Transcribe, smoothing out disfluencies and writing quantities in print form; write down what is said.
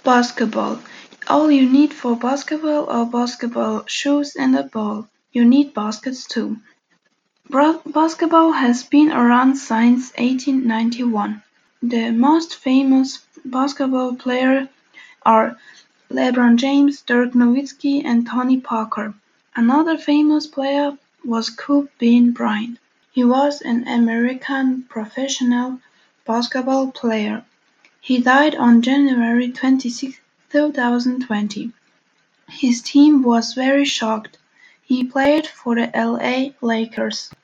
Basketball. All you need for basketball are basketball shoes and a ball. You need baskets too. Basketball has been around since 1891. The most famous basketball players are LeBron James, Dirk Nowitzki, and Tony Parker. Another famous player was Kobe Bryant. He was an American professional basketball player. He died on January 26, 2020. His team was very shocked. He played for the LA Lakers.